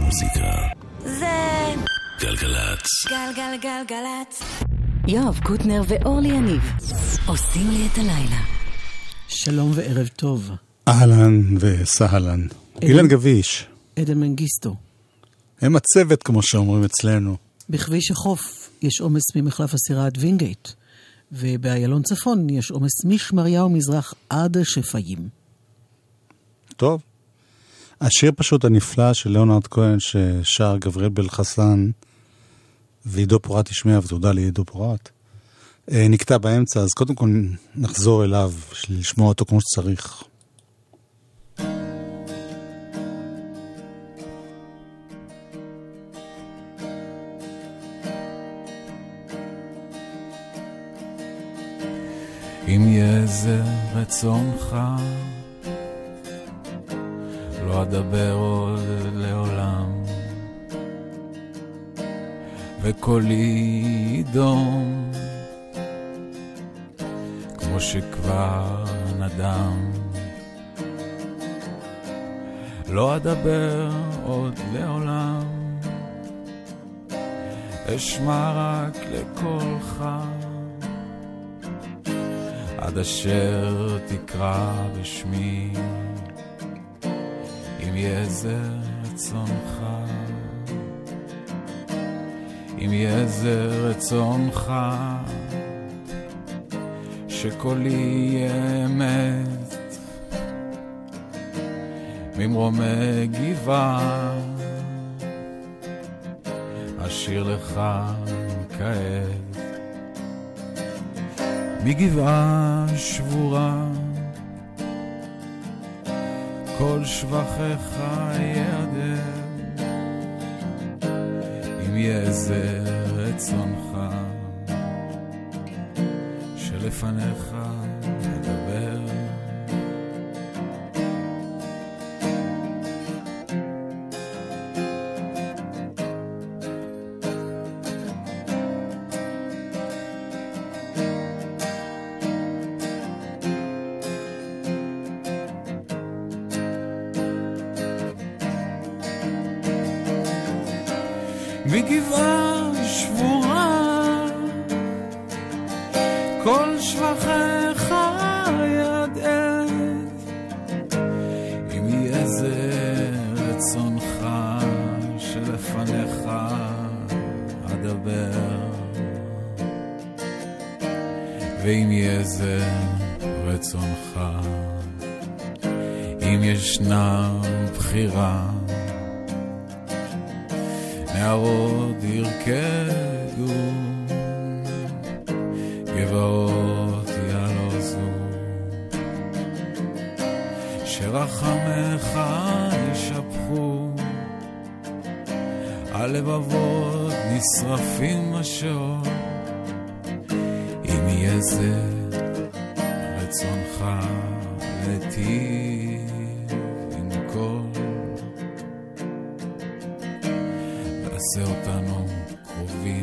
המוזיקה זה גלגלצ. גלגלגלגלצ. יואב קוטנר ואורלי יניב עושים לי את הלילה. שלום וערב טוב. אהלן וסהלן. אילן גביש. עדן מנגיסטו. הם הצוות כמו שאומרים אצלנו. בכביש החוף יש עומס ממחלף הסירה עד וינגייט, ובאיילון צפון יש עומס משמריהו מזרח עד שפיים. טוב. השיר פשוט הנפלא של ליאונרד כהן ששר גבריאל בלחסן ועידו פורט השמיע ותודה לעידו פורט נקטע באמצע, אז קודם כל נחזור אליו לשמוע אותו כמו שצריך. אם יהיה זה רצונך לא אדבר עוד לעולם וקולי ידום כמו שכבר נדם לא אדבר עוד לעולם אשמע רק לקולך עד אשר תקרא בשמי אם יהיה זה רצונך אם יהיה זה רצונך שקולי יהיה אמת ממרומי גבעה אשיר לך כעת מגבעה שבורה כל שבחך יעדר אם יהיה זה רצונך שלפניך נדבר מגבעה שבורה כל שבחך ידעת אם יהיה זה רצונך שלפניך אדבר ואם יהיה זה רצונך אם ישנה בחירה נערות ירקדו גבעות יעלוזו שרחמך ישפכו הלבבות נשרפים השעות אם יהיה זה רצונך לטיב עם כל עשה אותנו קרובים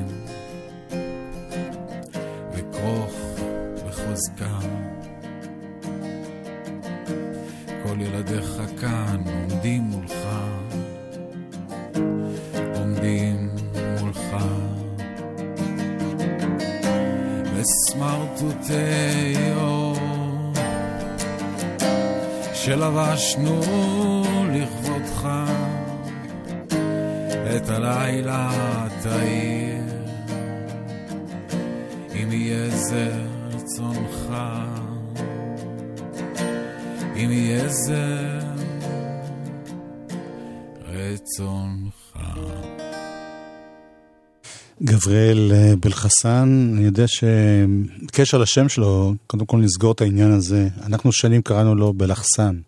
וכרוך בחוזקם כל ילדיך כאן עומדים מולך בסמרטוטי אור שלבשנו לכבודך את הלילה תאיר אם יהיה זה רצונך אם יהיה זה רצונך. גבריאל בלחסן, אני יודע שבקשר לשם שלו, קודם כל נסגור את העניין הזה, אנחנו שנים קראנו לו בלחסן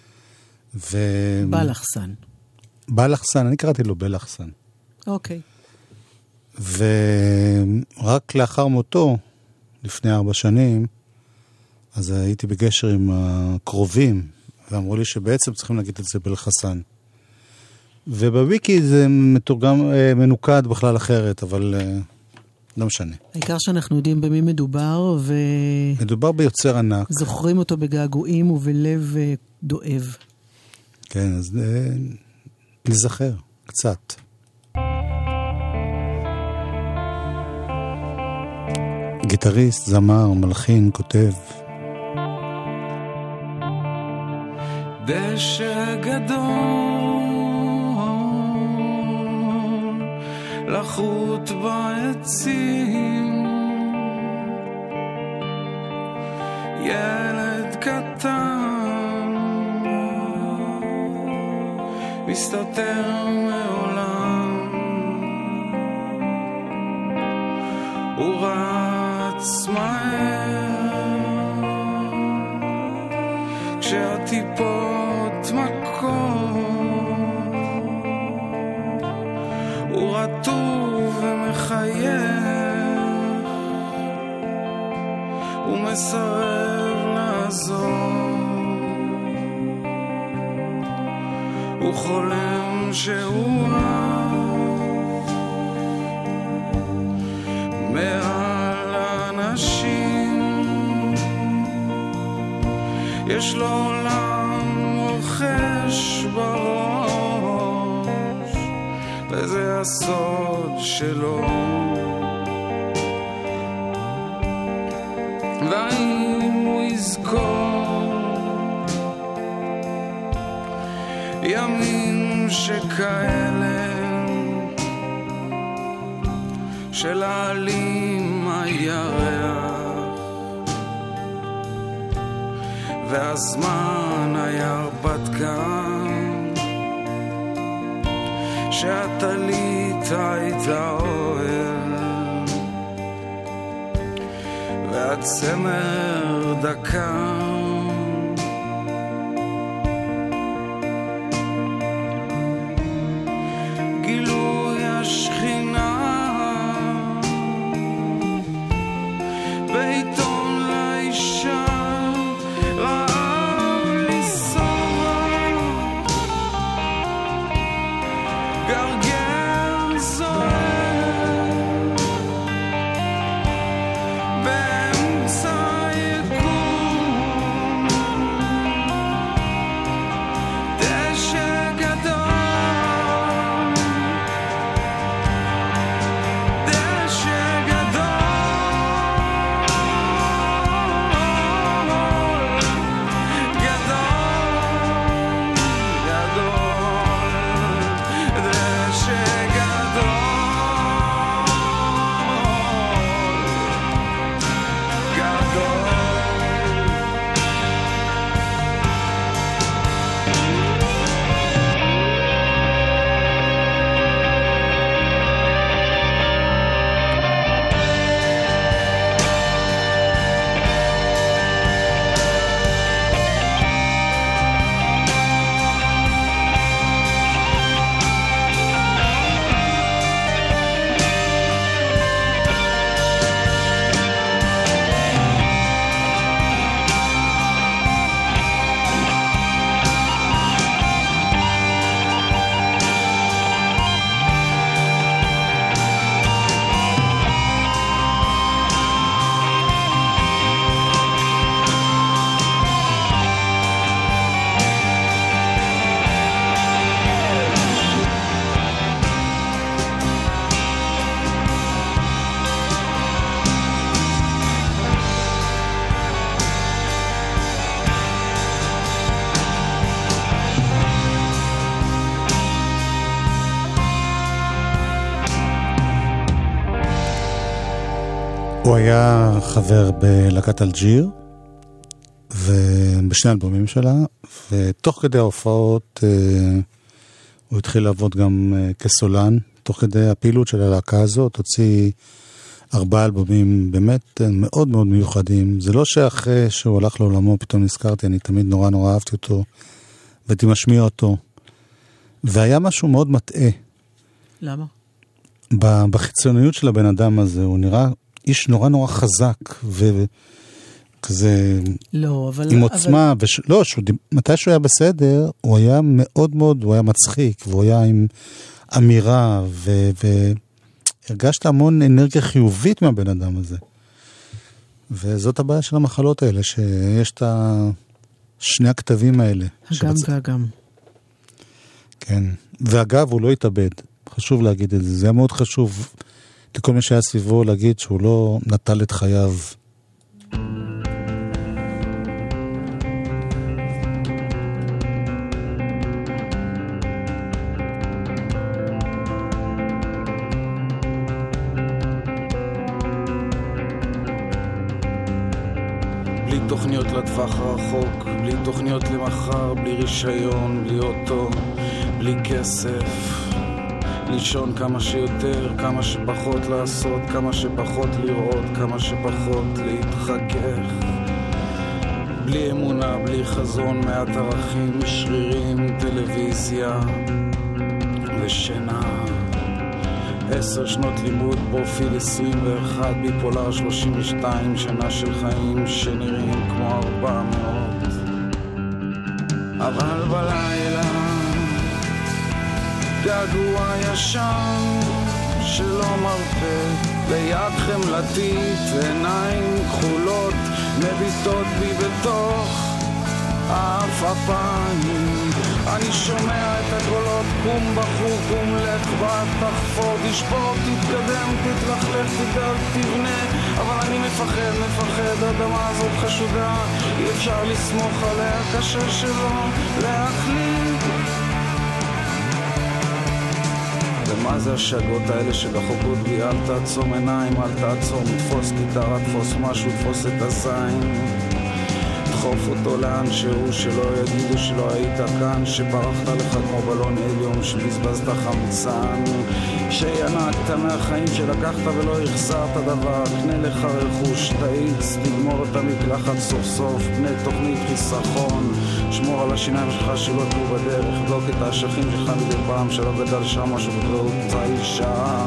בלחסן בלחסן, אני קראתי לו בלחסן. אוקיי. ורק לאחר מותו, לפני 4 שנים, אז הייתי בקשר עם הקרובים, ואמרו לי שבעצם צריכים להגיד את זה בלחסן. ובוויקי זה מתורגם, מנוקד בכלל אחרת, אבל לא משנה. העיקר שאנחנו יודעים במי מדובר, מדובר ביוצר ענק. זוכרים אותו בגעגועים ובלב דואב. כן, אז נזכר קצת. גיטריסט, זמר, מלחין, כותב. דשא גדול לחוט בעצים, ילד קטן מסתתר מעולם, הוא רץ מהר כשהטיפות מכות, הוא רטוב ומחייך, הוא מסרב לעזור, הוא חולם שהוא מעל אנשים, יש לו עולם מוחש בראש, וזה הסוד שלו. והאם הוא יזכור ימים שכאלה של העלים הירח, והזמן היה הרפתקן, שהטלית הייתה אוהל, והצמר דקה, גילוי השכינה בעיתון לאישה, רעב לנסוע, גרגר זוהר באמצע יקום, דשא גדול, דשא גדול, הוא היה חבר בלהקת אלג'יר, ובשני אלבומים שלה, ותוך כדי ההופעות הוא התחיל לעבוד גם כסולן, תוך כדי הפעילות של הלהקה הזאת, הוציא 4 אלבומים באמת מאוד מאוד מיוחדים. זה לא שאחרי שהוא הלך לעולמו, פתאום נזכרתי, אני תמיד נורא נורא אהבתי אותו, והייתי משמיע אותו. והיה משהו מאוד מטעה. למה? בחיצוניות של הבן אדם הזה, הוא נראה איש נורא נורא חזק, וכזה לא, אבל... עם עוצמה, לא, מתי שהוא היה בסדר, הוא היה מאוד מאוד, הוא היה מצחיק, והוא היה עם אמירה, והרגשת המון אנרגיה חיובית מהבן אדם הזה. וזאת הבעיה של המחלות האלה, שיש את שני הכתבים האלה. הגם והגם. כן. ואגב, הוא לא התאבד. חשוב להגיד את זה. זה היה מאוד חשוב לכל מי שהיה סביבו להגיד שהוא לא נטל את חייו. בלי תוכניות לטווח הרחוק, בלי תוכניות למחר, בלי רישיון, בלי אוטו, בלי כסף. לישון כמה שיותר, כמה שפחות לעשות, כמה שפחות לראות, כמה שפחות להתחכך. בלי אמונה, בלי חזון, מעט ערכים, שרירים, טלוויזיה ושינה. 10 שנות לימוד, פרופיל 21, ביפולר 32, שנה של חיים שנראים כמו 400. אבל בלילה געגוע ישן שלא מרפא, ליד חמלתית, עיניים כחולות מביטות בי בתוך העפעפיים. אני שומע את הקולות, קום בחור, קום לך, בת, תחפור, תשפור, תתקדם, תתלכלך, תדאג, תבנה. אבל אני מפחד, האדמה הזאת חשודה, אי אפשר לסמוך עליה, קשה שלא להחליט. ומה זה השגות האלה שבחוקות בי? אל תעצום עיניים, אל תעצום, תפוס גיטרה, תפוס משהו, תפוס את הזין, דחוף אותו לאן שהוא, שלא יגידו שלא היית כאן, שפרחת לך כמו בלון עליון, שבזבזת חמצן, שינקת מהחיים שלקחת ולא החזרת דבר. קנה לך רכוש, תאיץ, תגמור את המקלחת סוף סוף, בני תוכנית חיסכון, שמור על השיניים שלך שלא תלו בדרך, בלוק את האשכים שלך מדי פעם, שלא גדל שם משהו בקלות האישה.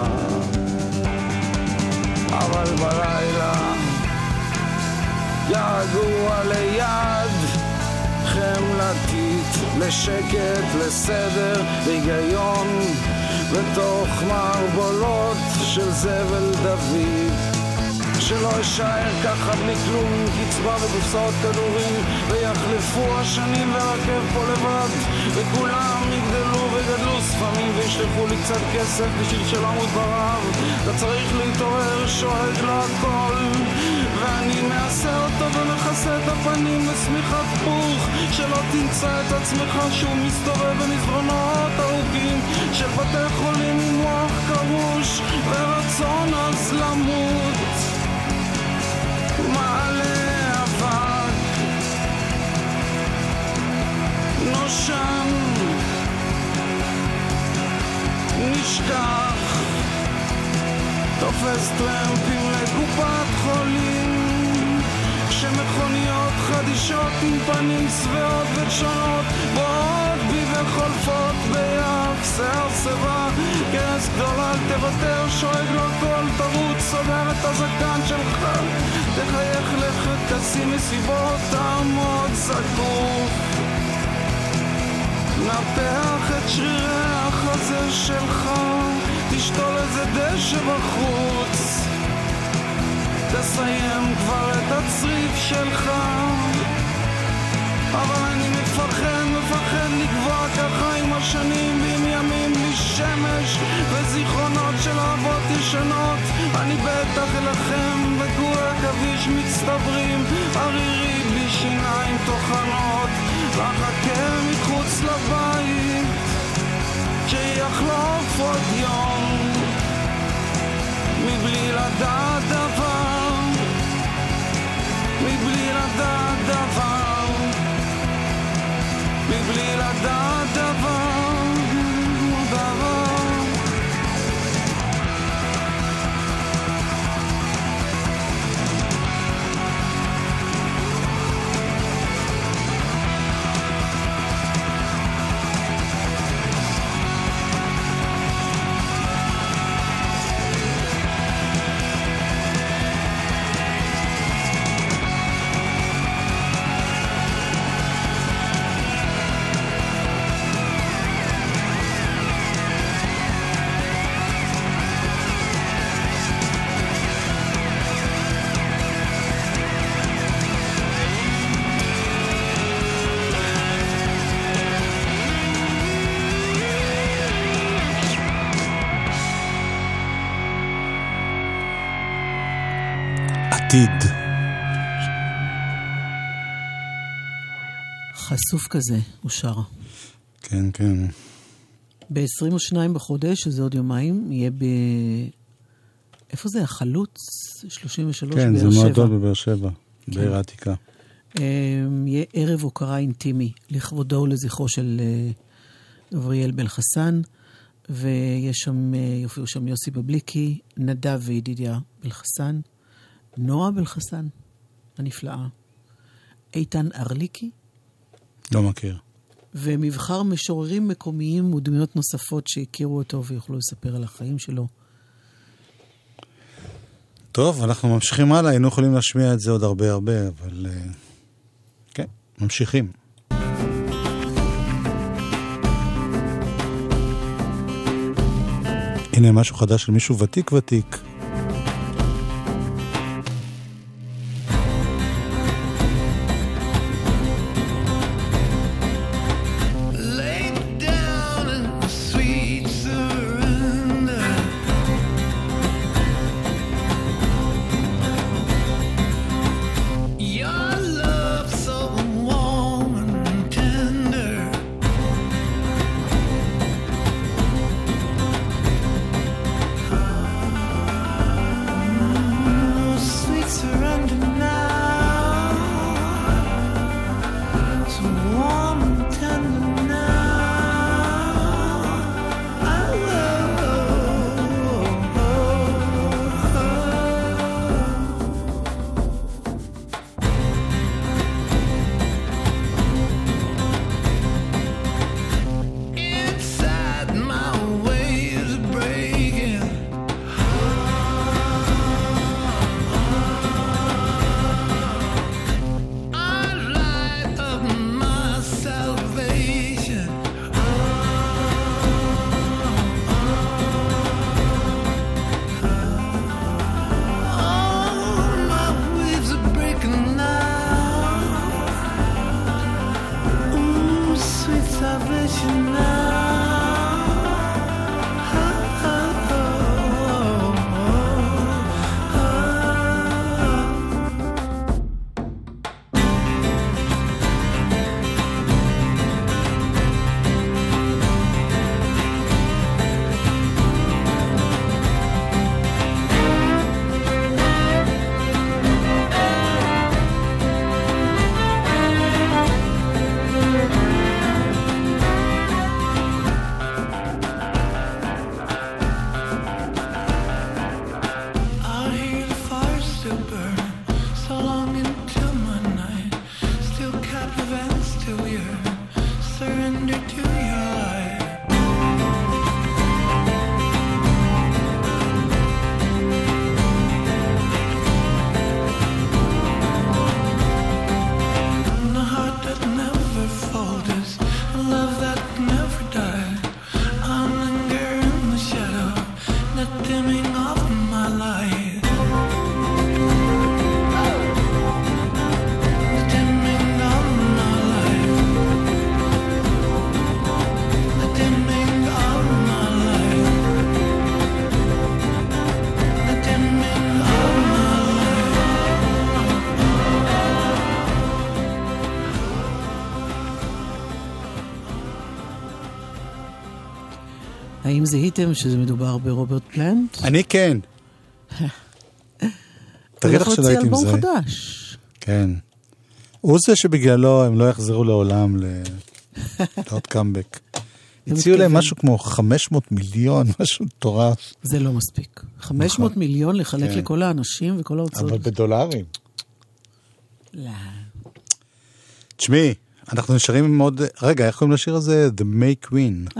אבל בלילה געגוע ליד חמלתית, לשקט, לסדר, היגיון בתוך מערבולות של זבל דוד, שלא אשאר ככה בלי כלום, עם קצבה וקופסאות כדורים, ויחלפו השנים ורכב פה לבד, וכולם יגדלו וגדלו ספמים וישלחו לי קצת כסף בשביל שלמות ברב. אתה צריך להתעורר, שואג להכל, ואני מעשה אותו ומכסה את הפנים בסמיכת פוך, שלא תמצא את עצמך שהוא מסתובב במסדרונות ארוכים של בתי חולים עם מוח קרוש ורצון אז למות. מעלה אבק, נושם, נשכח, תופס טרמפים לקופת חולים, כשמכוניות חדישות עם פנים צבעות ותשונות באות בי וחולפות ביעף שיער סבא, כרס גדולה אל תוותר, שואג לו כל תרוץ, סוגר את הזקן שלך, תחייך לכת, תשים מסיבות, תעמוד זקוף, נפח את שרירי החזה שלך, תשתול איזה דשא בחוץ, תסיים כבר את הצריף שלך. אבל אני מפחד לגבוע ככה עם השנים, ועם ימים בלי שמש וזיכרונות של אהבות ישנות. אני בטח אלחם וגור כביש מצטברים, ערירי בלי שיניים תוכנות, לחכה מחוץ לבית שיחלוף עוד יום מבלי לדעת דבר, מבלי לדעת דבר, מבלי לדעת דבר, דבר. עתיד. חשוף כזה, הוא שר. כן, כן. ב-22 בחודש, שזה עוד יומיים, יהיה איפה זה? החלוץ? 33 כן, באר שבע. זה מועדון בבאר שבע, בעיר העתיקה. יהיה ערב הוקרה אינטימי, לכבודו ולזכרו של גבריאל בן חסן, יופיעו שם יוסי בבליקי, נדב וידידיה בן חסן, נועה בן חסן, הנפלאה, איתן ארליקי, לא מכיר. ומבחר משוררים מקומיים ודמויות נוספות שהכירו אותו ויוכלו לספר על החיים שלו. טוב, אנחנו ממשיכים הלאה, היינו יכולים להשמיע את זה עוד הרבה, אבל כן, ממשיכים. הנה משהו חדש של מישהו ותיק. האם זיהיתם שזה מדובר ברוברט פלנט? אני כן. תגיד לך שלא הייתי עם זה. הוא הולך להוציא אלבום חדש. כן. הוא זה שבגללו הם לא יחזרו לעולם לעוד קאמבק. הציעו להם משהו כמו 500 מיליון, משהו מטורף. זה לא מספיק. 500 מיליון לחלק לכל האנשים וכל ההוצאות. אבל בדולרים. לא. תשמעי, אנחנו נשארים עם עוד... רגע, איך קוראים לשיר הזה? The May Queen.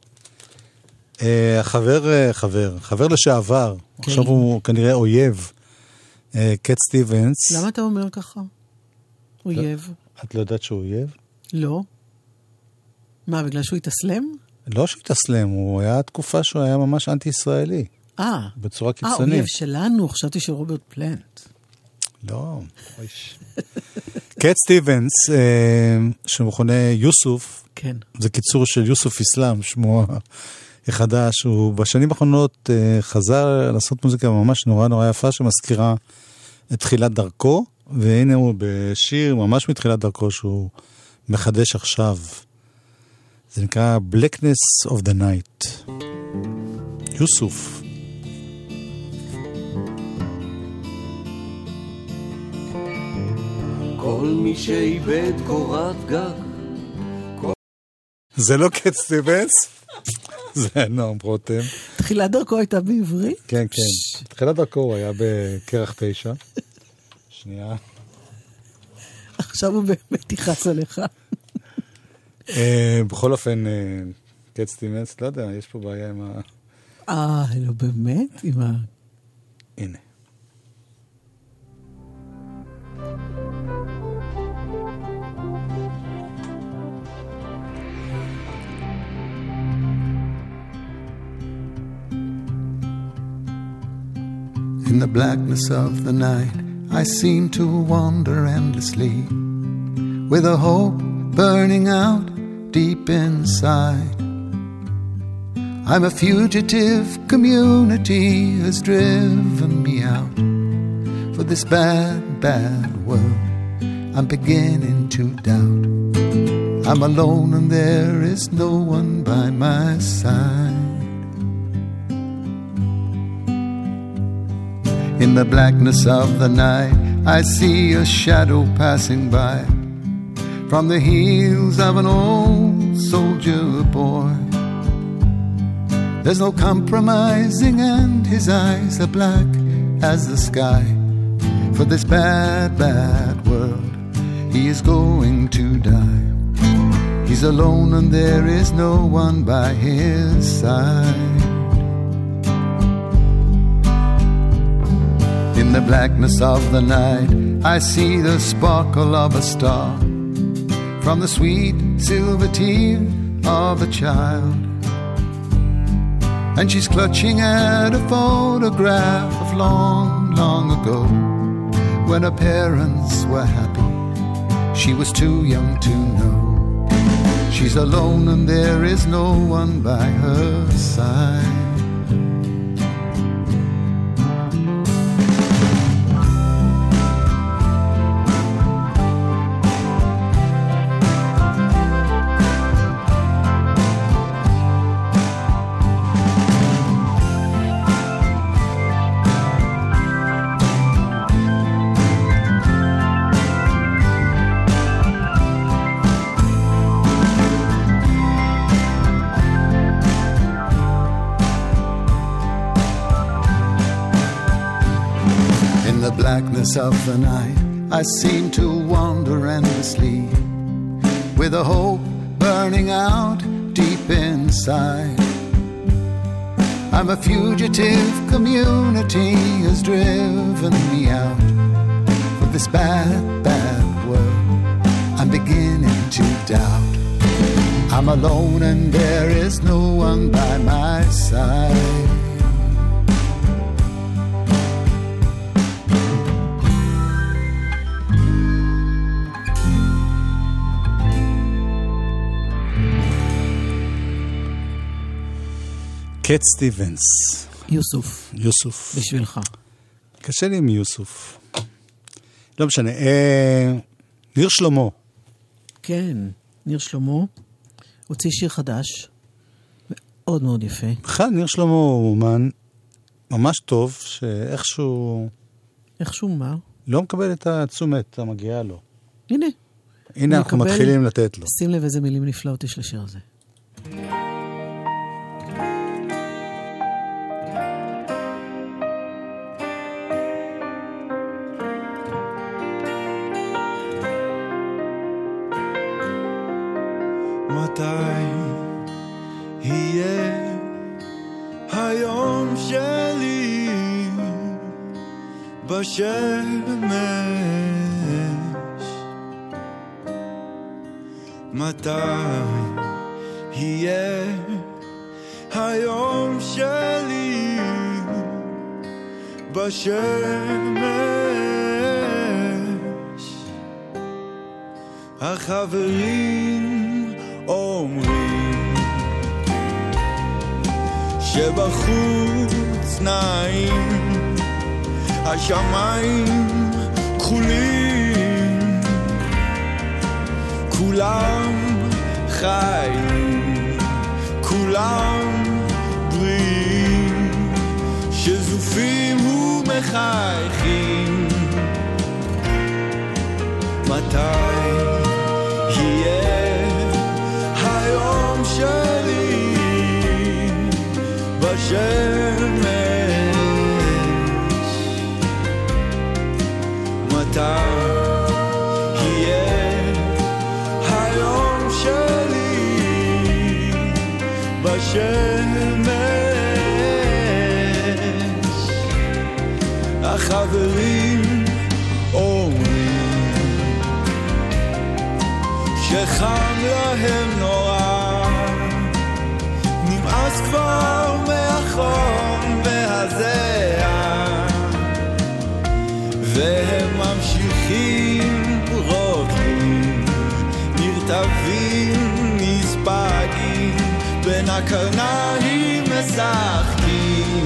חבר לשעבר. עכשיו הוא כנראה אויב. קט סטיבנס. למה אתה אומר ככה? אויב. את לא יודעת שהוא אויב? לא. מה, בגלל שהוא התאסלם? לא שהוא התאסלם, הוא היה תקופה שהוא היה ממש אנטי-ישראלי. בצורה קיצונית. אויב שלנו, חשבתי שרוברט פלנט. לא. קט סטיבנס, שמכונה יוסוף, כן. זה קיצור של יוסוף אסלאם, שמו החדש, הוא בשנים האחרונות חזר לעשות מוזיקה ממש נורא נורא יפה, שמזכירה את תחילת דרכו, והנה הוא בשיר ממש מתחילת דרכו שהוא מחדש עכשיו. זה נקרא Blackness of the Night. יוסוף. כל מי שאיבד קורת גג. זה לא קט סטיבנס? זה נועם רותם. תחילת דרכו הייתה בעברית? כן, כן. תחילת דרכו הוא היה בקרח 9. שנייה. עכשיו הוא באמת יחס עליך. בכל אופן, קט סטיבנס, לא יודע, יש פה בעיה עם ה... לא באמת? עם ה... הנה. In the blackness of the night, I seem to wander endlessly, with a hope burning out deep inside. I'm a fugitive, community has driven me out. For this bad, bad world, I'm beginning to doubt. I'm alone and there is no one by my side. In the blackness of the night, I see a shadow passing by, from the heels of an old soldier boy. There's no compromising and his eyes are black as the sky. For this bad, bad world, he is going to die. He's alone and there is no one by his side. In the blackness of the night, I see the sparkle of a star, from the sweet silver tear of a child. And she's clutching at a photograph of long, long ago, when her parents were happy. She was too young to know. She's alone and there is no one by her side. Of the night, I seem to wander endlessly, with a hope burning out deep inside. I'm a fugitive, community has driven me out. For this bad, bad world, I'm beginning to doubt. I'm alone and there is no one by my side. קט סטיבנס. יוסוף. יוסוף. בשבילך. קשה לי עם יוסוף. לא משנה. ניר שלמה. כן, ניר שלמה. הוציא שיר חדש. מאוד מאוד יפה. בכלל, ניר שלמה הוא אומן ממש טוב, שאיכשהו... איכשהו מה? לא מקבל את התשומת המגיעה לו. הנה. הנה אנחנו מתחילים לתת לו. שים לב איזה מילים נפלאות יש לשיר הזה. מתי יהיה היום שלי בשמש? מתי יהיה היום שלי בשמש? החברים אומרים שבחוץ נעים, השמיים חולים, כולם חיים, כולם בריאים, שזופים ומחייכים. מתי יהיה היום שלי בשמש? מתי יהיה היום שלי בשמש? החברים אומרים שחם להם נורא, נמאס כבר מהחום והזיעה, והם ממשיכים רוקדים, נרטבים, נספגים, בין הקרניים משחקים.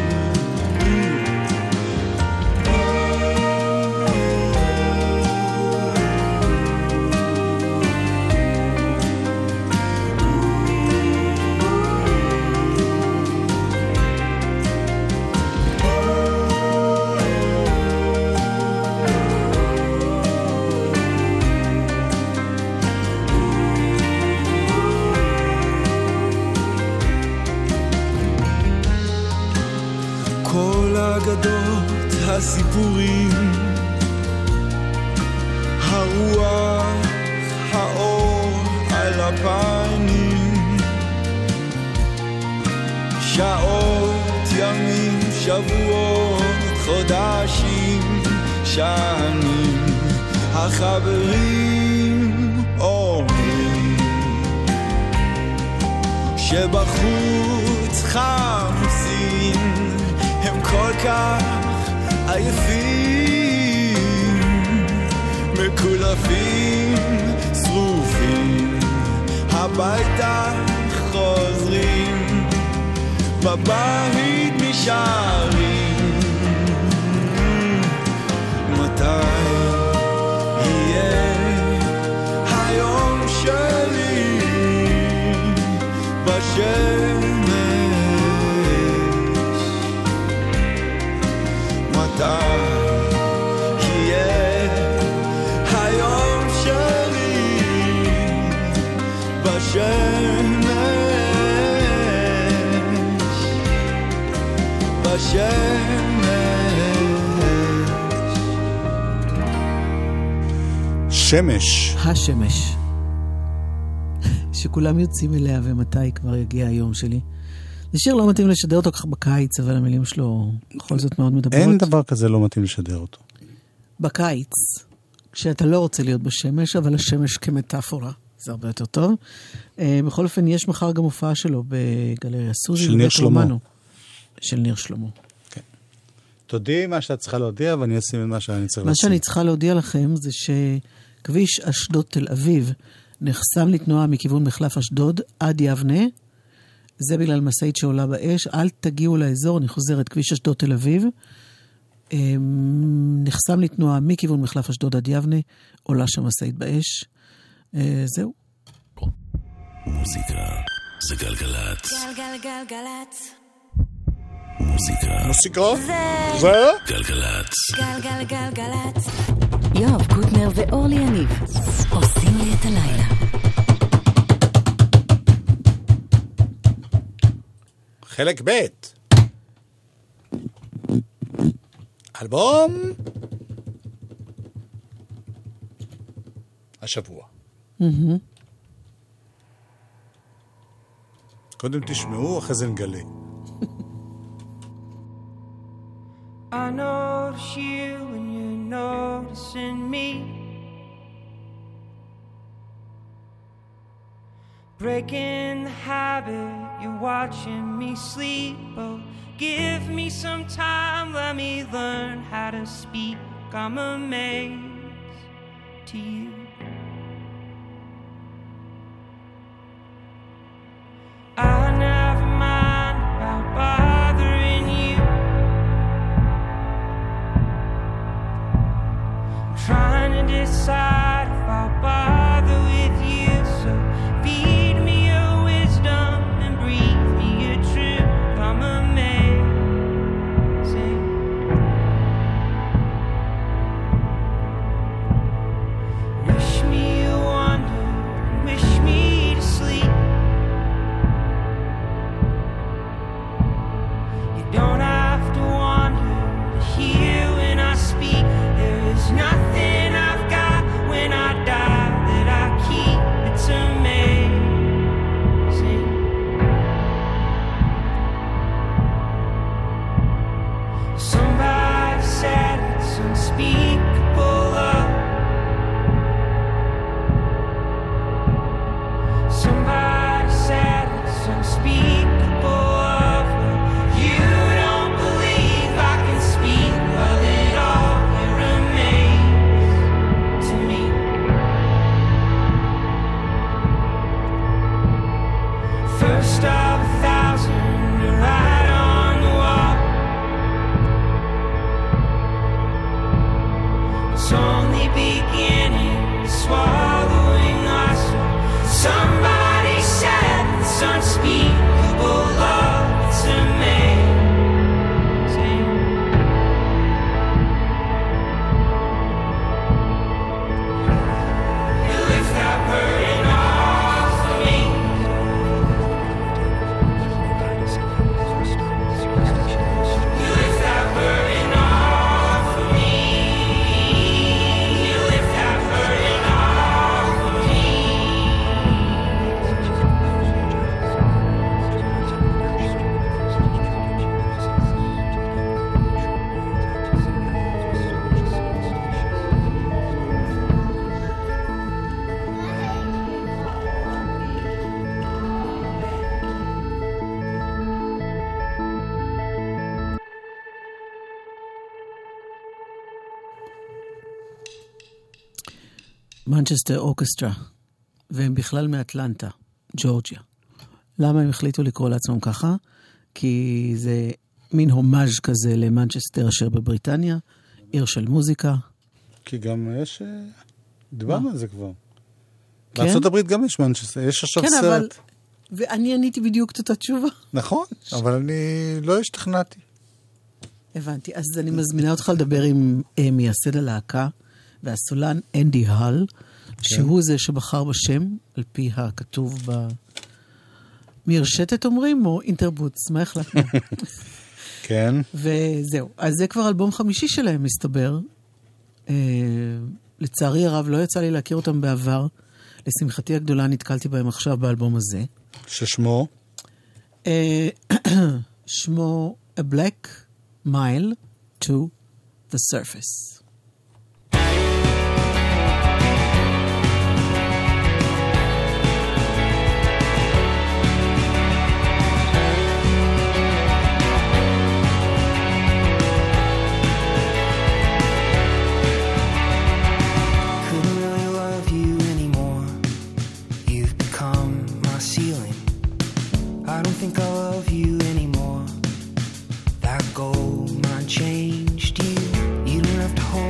אגדות הסיפורים, הרוח, האור על הפנים, שעות, ימים, שבועות, חודשים, שנים. החברים אומרים שבחוץ חמסים, הם כל כך עייפים, מקולפים, שרופים, הביתה חוזרים, בבית נשארים. מתי יהיה היום שלי בשמש? מתי יהיה היום שלי בשמש? שמש. השמש. שכולם יוצאים אליה, ומתי כבר יגיע היום שלי. זה שיר לא מתאים לשדר אותו כך בקיץ, אבל המילים שלו בכל זאת מאוד מדברות. אין דבר כזה לא מתאים לשדר אותו. בקיץ, כשאתה לא רוצה להיות בשמש, אבל השמש כמטאפורה, זה הרבה יותר טוב. בכל אופן, יש מחר גם הופעה שלו בגלריה סוזי. של ניר שלמה. של ניר שלמה. כן. תודיעי מה שאת צריכה להודיע, ואני אשים את מה שאני צריך מה לשים. שאני צריכה להודיע לכם, זה שכביש אשדוד תל אביב, נחסם לתנועה מכיוון מחלף אשדוד עד יבנה, זה בגלל מסעית שעולה באש, אל תגיעו לאזור, אני חוזרת, כביש אשדוד תל אביב, נחסם לתנועה מכיוון מחלף אשדוד עד יבנה, עולה שם מסעית באש, זהו. מוזיקה זה גלגלת. גלגלגלגלת. מוזיקה זה גלגלת. גלגלגלגלת. יואב קוטנר ואורלי יניב עושים לי את הלילה. חלק ב' אלבום השבוע. קודם תשמעו, אחרי זה נגלה. I notice you and you're noticing me, breaking the habit, you're watching me sleep. Oh, give me some time, let me learn how to speak. I'm amazed to you. I never mind about bothering you. Somebody said it's unspeakable love. Somebody said it's unspeakable love. You don't believe I can speak of it all. It remains to me. First of 1,000 to write on the wall. It's only beginning, swallowing us. Somebody said it's unspeakable love. It's amazing. You lift that burden off of me. You lift that burden off of me. You lift that burden off of me. מנצ'סטר אורקסטרה, והם בכלל מאטלנטה, ג'ורג'יה. למה הם החליטו לקרוא לעצמם ככה? כי זה מין הומאז' כזה למנצ'סטר אשר בבריטניה, עיר של מוזיקה. כי גם יש... דיברנו על זה כבר. כן? בארצות הברית גם יש מנצ'סטר, יש עכשיו כן, סרט. אבל... ואני עניתי בדיוק את אותה תשובה. נכון, אבל אני לא השתכנעתי. הבנתי. אז אני מזמינה אותך לדבר עם מייסד הלהקה, והסולן אנדי הל, שהוא זה שבחר בשם, על פי הכתוב מרשתת אומרים, או אינטרבוטס, מה החלטנו? כן. וזהו. אז זה כבר אלבום חמישי שלהם, מסתבר. לצערי הרב, לא יצא לי להכיר אותם בעבר. לשמחתי הגדולה נתקלתי בהם עכשיו באלבום הזה. ששמו? שמו A Black Mile to the Surface. I don't think I love you anymore. That gold mine changed you. You don't have to hold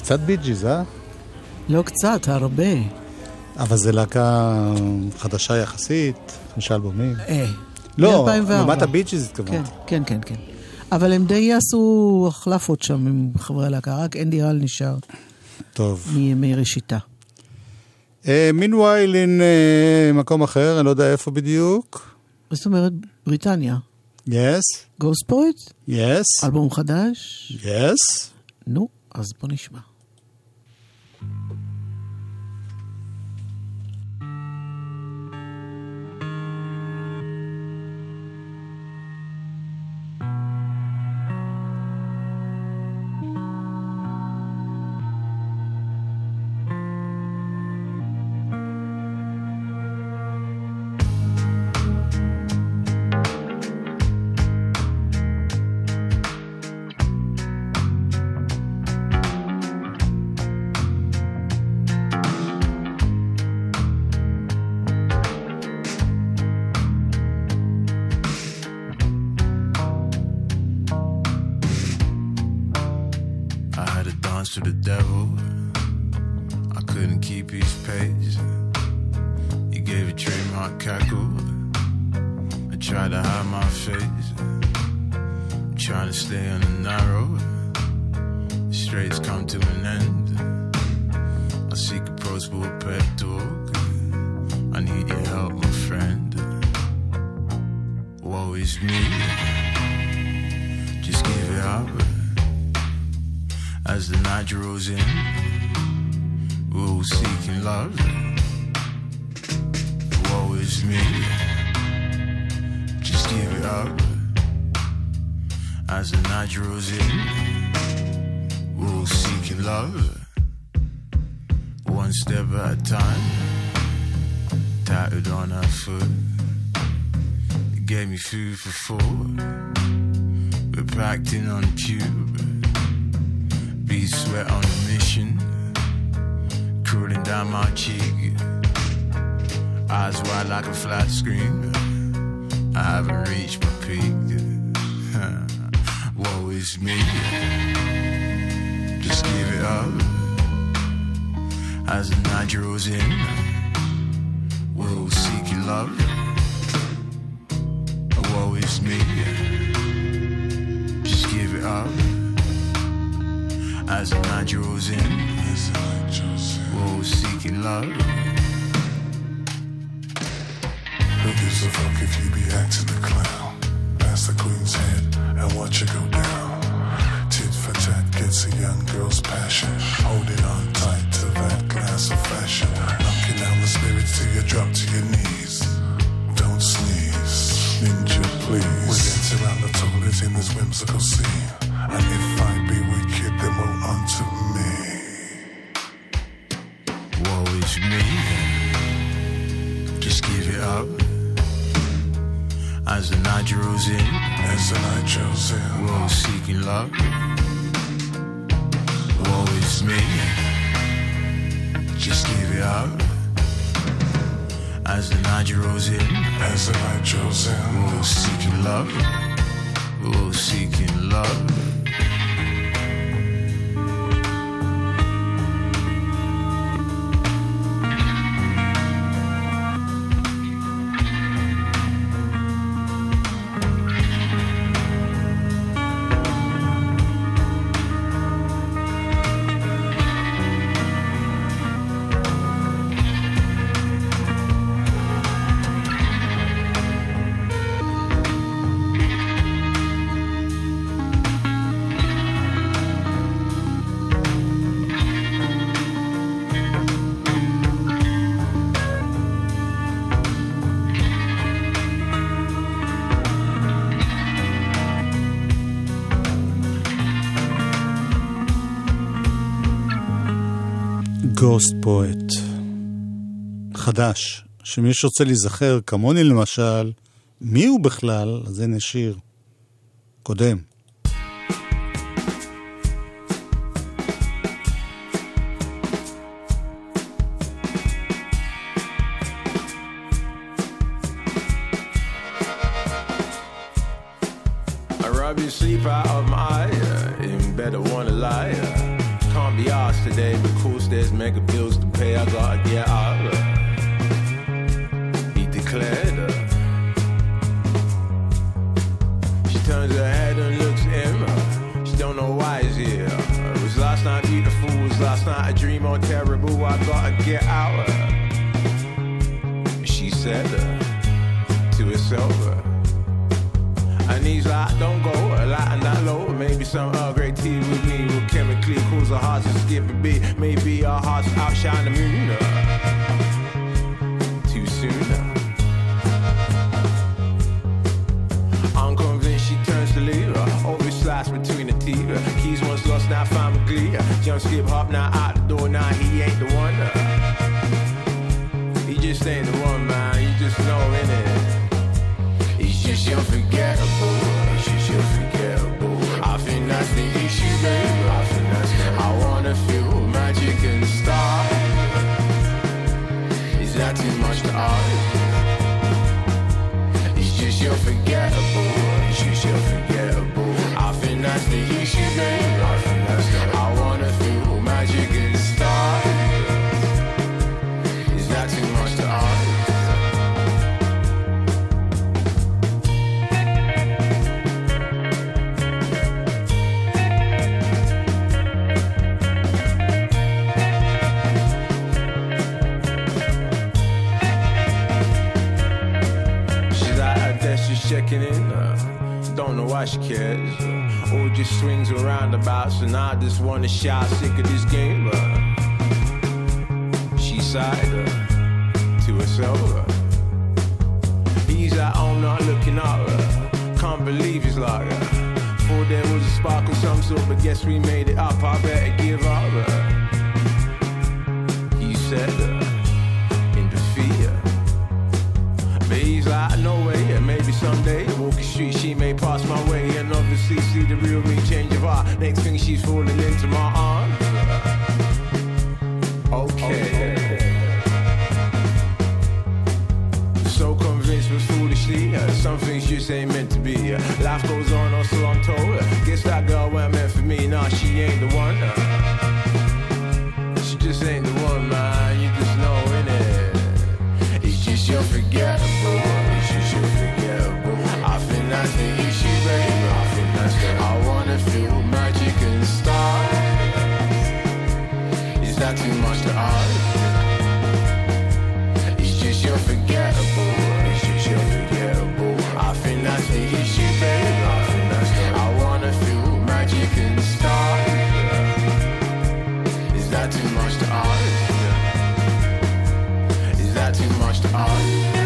קצת ביג'יז, לא קצת, הרבה. אבל זה להקה חדשה יחסית, 5 אלבומים. לא, מ-2004. לעומת הביג'יז התכוונתי. כן. אבל הם די עשו החלפות שם עם חברי הלהקה, רק אנדי רל נשאר. טוב. מימי ראשיתה. מינווייל אין מקום אחר, אני לא יודע איפה בדיוק. זאת אומרת, בריטניה. Yes. גוסט פויט? Yes. אלבום חדש? Yes. נו, אז בוא נשמע. To the devil, I couldn't keep his pace. He gave a trademark cackle. I tried to hide my face, trying to stay on the narrow. The straight's come to an end. I seek approachable pep talk. I need your help, my friend. Woe is me. Just give it up. As the night draws in, we're all seeking love. Woe is me. Just give it up. As the night draws in, we're all seeking love. One step at a time, tattooed on her foot. It gave me food for thought. We're packed in on a tube. Be sweat on a mission, cooling down my cheek. Eyes wide like a flat screen. I haven't reached my peak. Woe is me. Just give it up. As the night draws in, we're all seeking love. Woe is me. Just give it up. As the night draws in, we're all seeking love. Who gives a fuck if you be acting the clown? Pass the queen's head and watch it go down. Tit for tat gets a young girl's passion. Holding on tight to that glass of fashion. Knocking down the spirits till you drop to your knees. Don't sneeze, ninja please. We dance around the toilet in this whimsical scene. And if I be wicked, then woe unto me. Woe is me. Just give it up. As the night draws in, we're all seeking love. Woe is me. Just give it up. As the night draws in, we're all seeking love. We're all seeking love. גוסט פואט חדש, שמי שרוצה להיזכר כמוני למשל מי הוא בכלל, אז הנה שיר קודם. I rob you sleep out of my eye, in bed I wanna lie, can't be asked mega bills to pay, I gotta get out of her. He declared her. She turns her head and looks at him. She don't know why he's here. It was last night beautiful, it was last night a dream or terrible, I gotta get out of her. She said to herself. And he's like, don't go light and that low. Maybe some Earl Grey tea with me will chemically cause our hearts to skip a beat. Maybe our hearts outshine the moon. Too soon. Unconvinced, she turns to leave. Always slice between the teeth. Keys once lost, now found with glee. Jump, skip, hop, now out the door. Now he ain't the one. He just ain't the one, man. You just know, innit? He's just unforgettable. He's just unforgettable. I think that's the issue, baby. I think that's the I wanna feel magic and start. Is that too much to ask? He's just unforgettable. He's just unforgettable. I think that's the issue, baby. I think that's the I wanna feel magic and start. Is that too much to ask? Checking in, don't know why she cares. Or just swings and roundabouts, and I just wanna shout, sick of this game. She sighed to herself. He's at home not looking up. Can't believe he's like thought there was a spark of some sort, but guess we made it up. I better give up. He said in defeat. But he's like, no way, maybe someday walking street she may pass my way and obviously see the real me change of heart. Next thing she's falling into my arms. Okay. So convinced but foolishly, some things just ain't meant to be. Life goes on, or so I'm told. Guess that girl weren't meant for me. Nah, she ain't the one. She just ain't the one, man. You just know, innit? It's just unforgettable. It's just unforgettable. I think that's the issue, baby. I think that's the I wanna feel magic and start. Is that too much to ask? It's just unforgettable. It's just unforgettable. I think that's the issue, baby. I think that's the I wanna feel magic and start. Is that too much to ask? Is that too much to ask?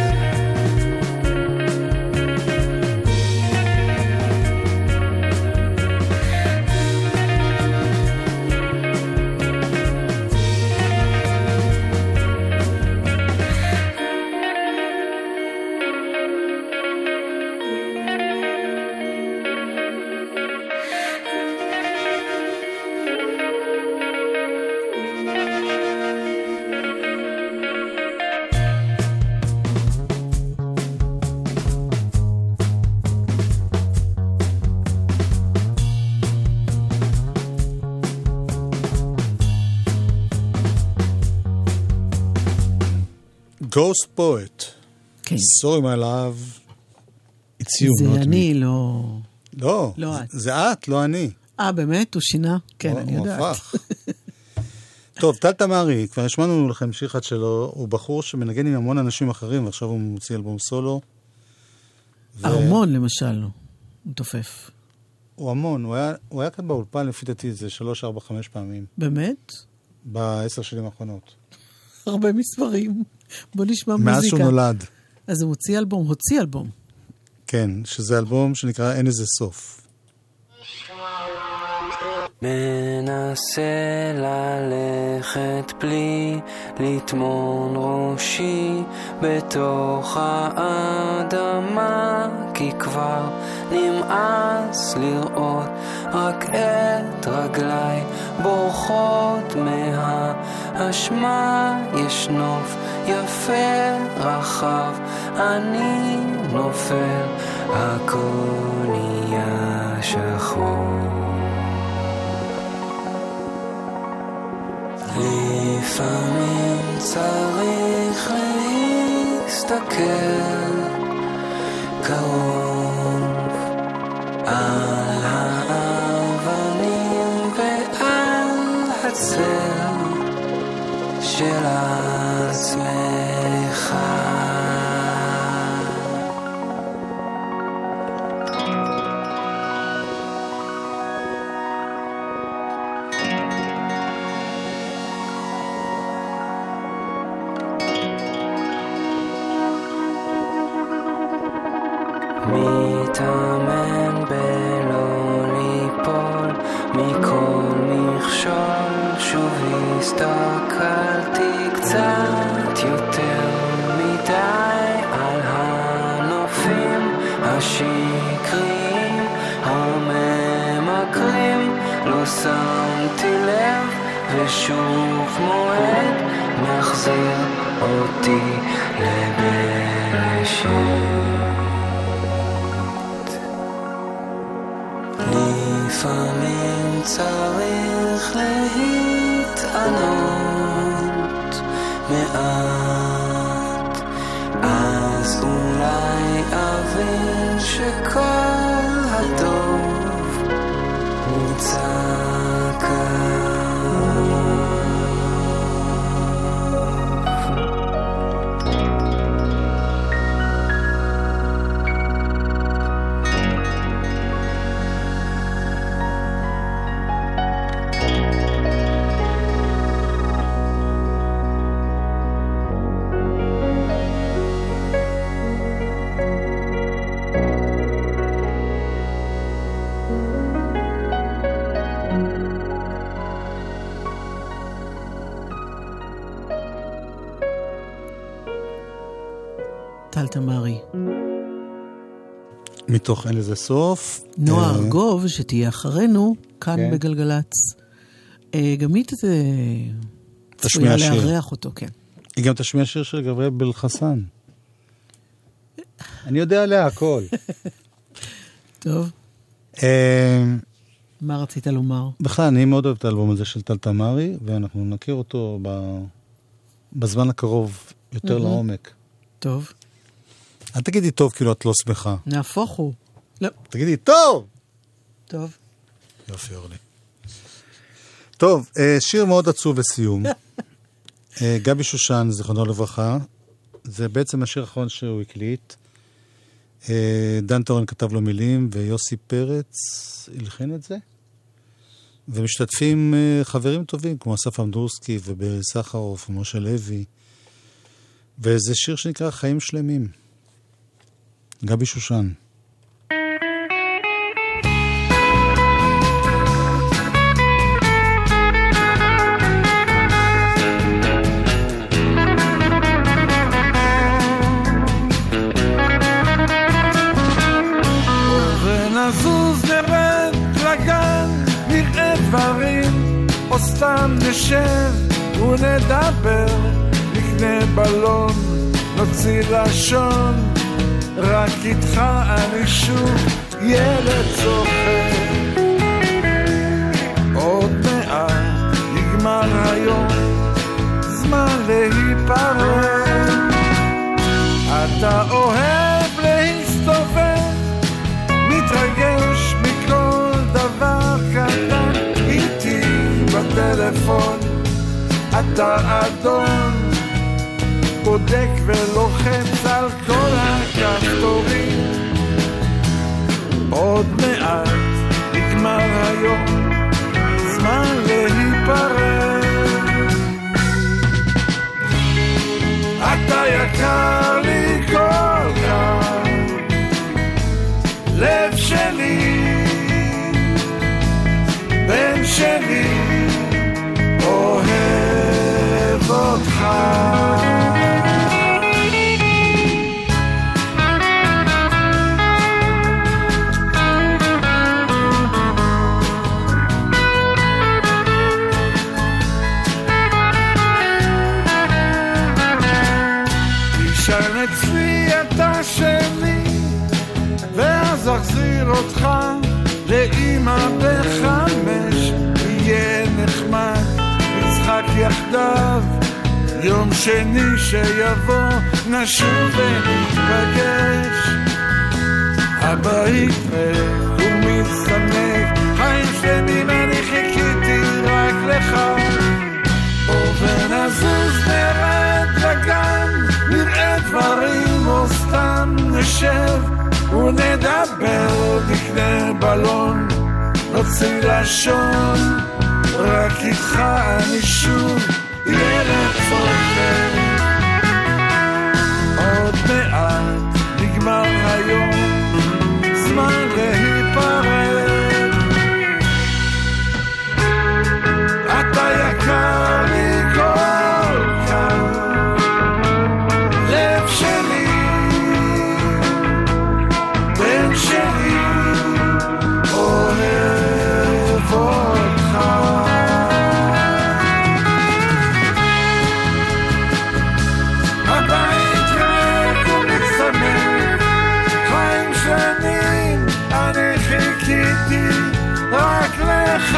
Ghost Poet. כן. Sorry my love, it's you, זה not אני, me. לא... לא, זה את, לא אני. באמת? הוא שינה? כן, אני יודעת. הוא הפך. טוב, טל תמרי, כבר השמענו לכם שיר אחד שלו, הוא בחור שמנגן עם המון אנשים אחרים, ועכשיו הוא מוציא אלבום סולו. ארמון למשל, הוא תופף. הוא המון, הוא היה כאן באולפן, לפי דעתי, זה 3, 4, 5 פעמים. באמת? ב10 שנים האחרונות. הרבה מספרים. בוא נשמע מוזיקה. מאז שהוא נולד. אז הוא הוציא אלבום. כן, שזה אלבום שנקרא אין איזה סוף. מנסה ללכת בלי לטמון ראשי בתוך האדמה, כי כבר נמאס לראות רק את רגליי בורחות מהאשמה. יש נוף יפה רחב, אני נופל, הכל נהיה שחור. לפעמים צריך להסתכל קרוב על האבנים ועל הצל של עצמך. מתאמן בלא ליפול מכל מכשול, שוב הסתכלתי קצת יותר מדי על הנופים השקריים הממכרים, לא שמתי לב ושוב מועד מחזיר אותי לבראשית. לפעמים צריך להתענות מעט, אז אולי אבין שכל הטוב נמצא טל תמרי. מתוך אין לזה סוף. נועה ארגוב, שתהיה אחרינו, כאן כן. בגלגלץ. גם היא צפויה לארח אותו, כן. היא גם תשמיע שיר של גבריאל בלחסן. אני יודע עליה הכל. טוב. מה רצית לומר? בכלל, אני מאוד אוהב את האלבום הזה של טל תמרי, ואנחנו נכיר אותו בזמן הקרוב יותר לעומק. טוב. אל תגידי טוב, כאילו את לא שמחה. נהפוך הוא. לא. תגידי טוב! טוב. יופי, אורלי. טוב, שיר מאוד עצוב לסיום. גבי שושן, זיכרונו לברכה. זה בעצם השיר האחרון שהוא הקליט. דן טורן כתב לו מילים, ויוסי פרץ הלחין את זה. ומשתתפים חברים טובים, כמו אסף אמדורסקי ובסחרוף ומשה לוי. וזה שיר שנקרא חיים שלמים. גבי שושן. ונזוז נרד לגן, נראה דברים, או סתם נשב ונדבר, נקנה בלון, נוציא לשון, רק איתך אני שוב ילד צוחק. עוד מעט נגמר היום, זמן להיפרד. אתה אוהב להסתובב, מתרגש מכל דבר קטן, איתי בטלפון אתה אדון, בודק ולוחץ על כל הכפתורים. עוד מעט נגמר היום, זמן להיפרד. אתה יקר לי כל כך, לב שלי, בן שלי, אוהב אותך. אצלי אתה שלי, ואז אחזיר אותך לאמא ב5, יהיה נחמד, נצחק יחדיו יום שני שיבוא נשוב ונפגש, הבית ריק ומצטמק, חיים שלמים אני חיכיתי רק לך. ונזוז נרד לגן, נראה דברים או סתם נשב ונדבר, נקנה בלון, נוציא לשון, רק איתך אני שוב ילד צוחק. עוד מעט נגמר היום, זמן להיפרד, אתה יקר לי כל כך, לב שלי, בן שלי, אוהב אותך. הבית ריק ומצטמק, חיים שנים אני חיכיתי רק לך.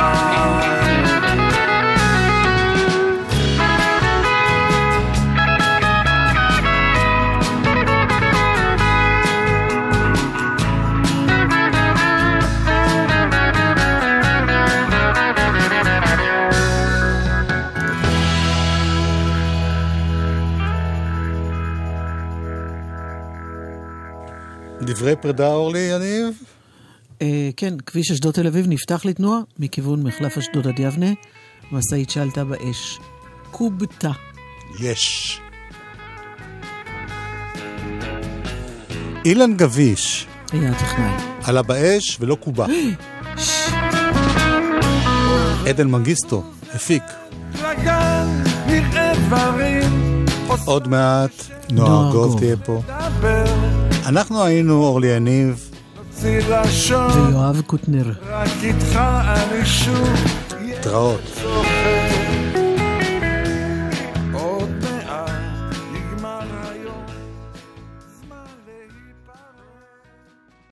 דברי פרידה, אורלי יניב? כן, כביש אשדוד תל אביב נפתח לתנועה מכיוון מחלף אשדוד עד יבנה, משאית שעלתה באש. קובטה. יש. אילן גביש. היה הטכנאי. עלה באש ולא קובה. עדן מנגיסטו, הפיק. עוד מעט נועה גוב תהיה פה. אנחנו היינו אורלי יניב ויואב קוטנר. רק איתך אני שוב תראות.